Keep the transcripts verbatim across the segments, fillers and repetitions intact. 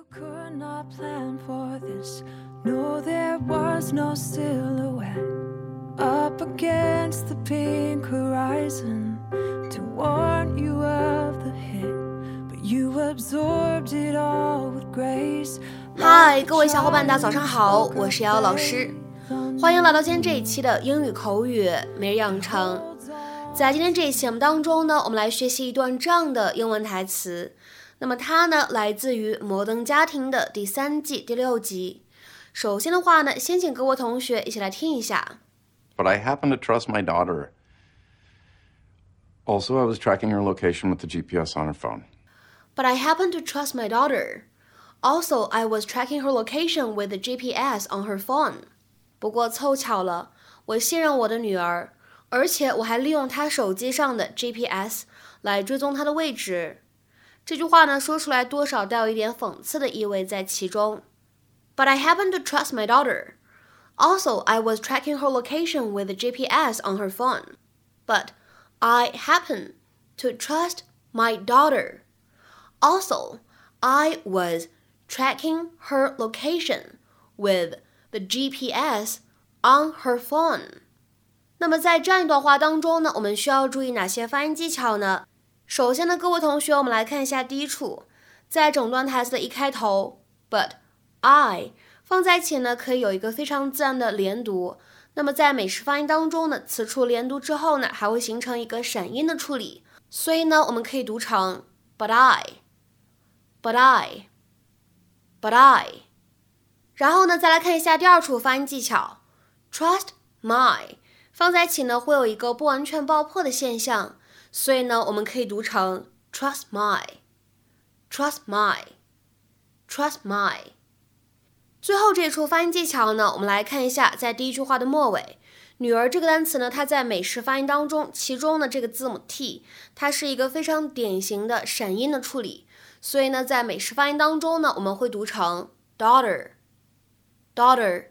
could not plan for this. No, there was no silhouette up against the pink horizon to warn you of the hit, but you absorbed it all with grace. 嗨，各位小伙伴，大家早上好，我是瑶瑶老师，欢迎来到今天这一期的英语口语每日养成。在今天这一期节目当中呢，我们来学习一段这样的英文台词。那么它呢，来自于《摩登家庭》的第三季第六集。首先的话呢，先请各位同学一起来听一下。 But I happen to trust my daughter. Also, I was tracking her location with the G P S on her phone. But I happen to trust my daughter. Also, I was tracking her location with the G P S on her phone. 不过凑巧了，我信任我的女儿，而且我还利用她手机上的 G P S 来追踪她的位置。这句话呢，说出来多少带有一点讽刺的意味在其中。But I happen to trust my daughter. Also, I was tracking her location with the G P S on her phone. But I happen to trust my daughter. Also, I was tracking her location with the G P S on her phone. 那么在这样一段话当中呢，我们需要注意哪些发音技巧呢？首先呢，各位同学，我们来看一下第一处，在整段台词的一开头 ，but I 放在一起呢，可以有一个非常自然的连读。那么在美式发音当中呢，此处连读之后呢，还会形成一个闪音的处理，所以呢，我们可以读成 but I，but I，but I。然后呢，再来看一下第二处发音技巧 ，trust my 放在一起呢，会有一个不完全爆破的现象。所以呢，我们可以读成 trust my, trust my, trust my。最后这一处发音技巧呢，我们来看一下，在第一句话的末尾，女儿这个单词呢，它在美式发音当中，其中呢这个字母 t， 它是一个非常典型的闪音的处理，所以呢，在美式发音当中呢，我们会读成 daughter, daughter,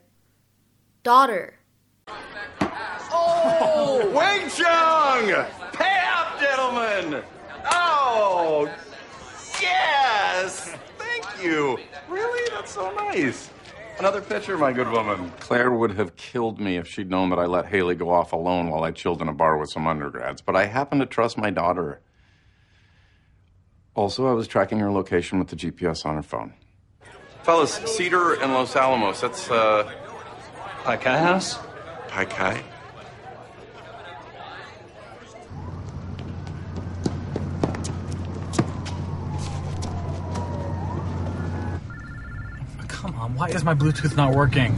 daughter。Oh, Wing Chun!Pay up, gentlemen! Oh, yes! Thank you. Really? That's so nice. Another pitcher, my good woman. Claire would have killed me if she'd known that I let Haley go off alone while I chilled in a bar with some undergrads, but I happen to trust my daughter. Also, I was tracking her location with the G P S on her phone. Fellas, Cedar and Los Alamos, that's, uh... Pai Kai House? Pai Kai? Come on, why is my Bluetooth not working?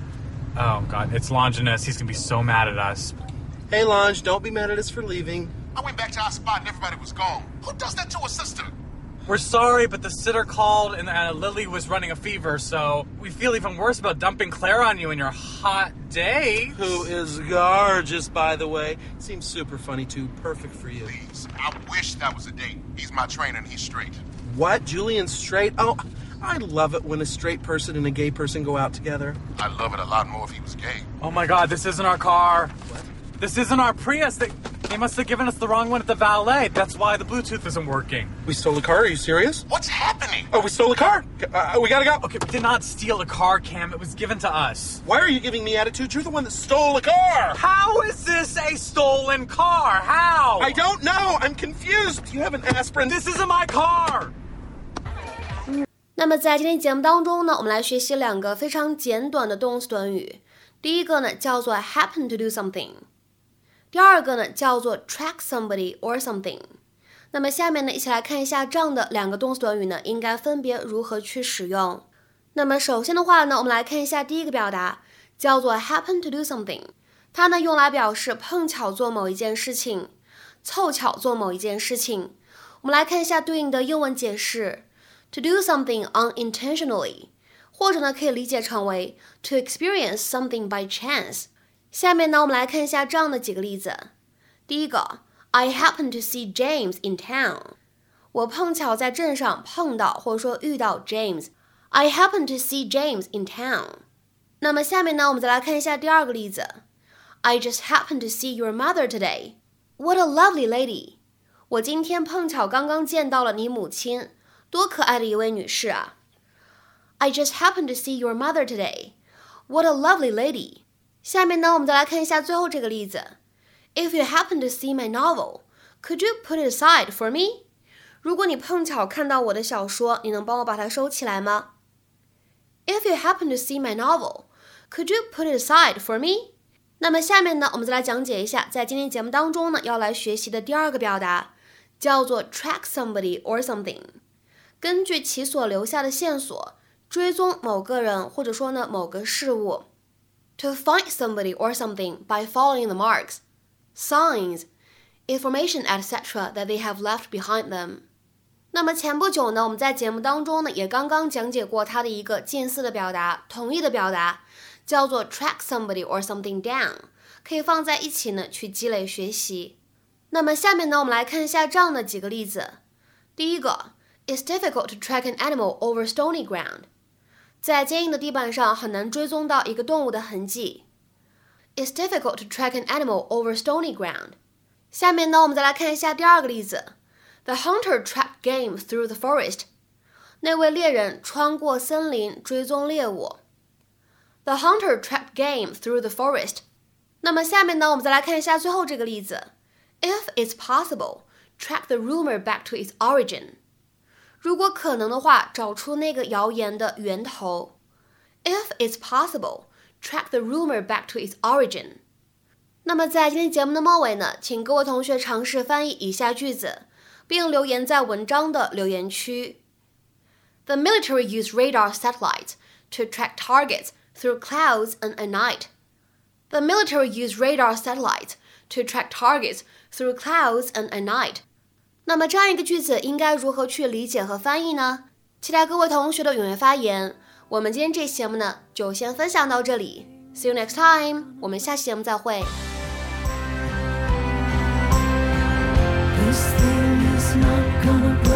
Oh, God, it's Longinus. He's going to be so mad at us. Hey, Longe, don't be mad at us for leaving. I went back to our spot and everybody was gone. Who does that to a sister? We're sorry, but the sitter called and uh, Lily was running a fever, so we feel even worse about dumping Claire on you in your hot day. Who is gorgeous, by the way. Seems super funny, too. Perfect for you. Please, I wish that was a date. He's my trainer and he's straight. What? Julian's straight? Oh, I love it when a straight person and a gay person go out together. I'd love it a lot more if he was gay. Oh my God, this isn't our car. What? This isn't our Prius. They, they must have given us the wrong one at the valet. That's why the Bluetooth isn't working. We stole a car? Are you serious? What's happening? Oh, we stole a car? Uh, we gotta go. Okay, we did not steal a car, Cam. It was given to us. Why are you giving me attitude? You're the one that stole a car. How is this a stolen car? How? I don't know. I'm confused. Do you have an aspirin? This isn't my car. 那么在今天节目当中呢，我们来学习两个非常简短的动词短语。第一个呢叫做 happen to do something， 第二个呢叫做 track somebody or something。那么下面呢一起来看一下这样的两个动词短语呢应该分别如何去使用。那么首先的话呢，我们来看一下第一个表达，叫做 happen to do something， 它呢用来表示碰巧做某一件事情，凑巧做某一件事情。我们来看一下对应的英文解释。To do something unintentionally， 或者呢可以理解成为 to experience something by chance。下面呢我们来看一下这样的几个例子。第一个 I happen to see James in town， 我碰巧在镇上碰到或者说遇到 James。 I happen to see James in town。 那么下面呢我们再来看一下第二个例子。I just happen to see your mother today. What a lovely lady。 我今天碰巧刚刚见到了你母亲，多可爱的一位女士啊。 I just happened to see your mother today. What a lovely lady. 下面呢，我们再来看一下最后这个例子。If you happen to see my novel, could you put it aside for me? 如果你碰巧看到我的小说，你能帮我把它收起来吗？ If you happen to see my novel, could you put it aside for me? 那么下面呢，我们再来讲解一下，在今天节目当中呢，要来学习的第二个表达，叫做 track somebody or something。根据其所留下的線索，追踪某个人或者说呢某个事物。To find somebody or something by following the marks, signs, information, et cetera that they have left behind them。那么前不久呢，我们在节目当中呢也刚刚讲解过它的一个近似的表达，同义的表达，叫做 track somebody or something down， 可以放在一起呢去积累学习。那么下面呢，我们来看一下这样的几个例子。第一个 ，It's difficult to track an animal over stony ground。在坚硬的地板上很难追踪到一个动物的痕迹。It's difficult to track an animal over stony ground。下面呢，我们再来看一下第二个例子。The hunter tracked game through the forest。那位猎人穿过森林追踪猎物。The hunter tracked game through the forest。那么下面呢，我们再来看一下最后这个例子。If it's possible, track the rumor back to its origin。如果可能的话，找出那个谣言的源头。If it's possible, track the rumor back to its origin。那么在今天节目的末尾呢，请各位同学尝试翻译以下句子，并留言在文章的留言区。The military used radar satellites to track targets through clouds and at night. The military used radar satellites to track targets through clouds and at night. 那么这样一个句子应该如何去理解和翻译呢？期待各位同学的踊跃发言。我们今天这期节目呢，就先分享到这里。See you next time， 我们下期节目再会。 This thing is not gonna break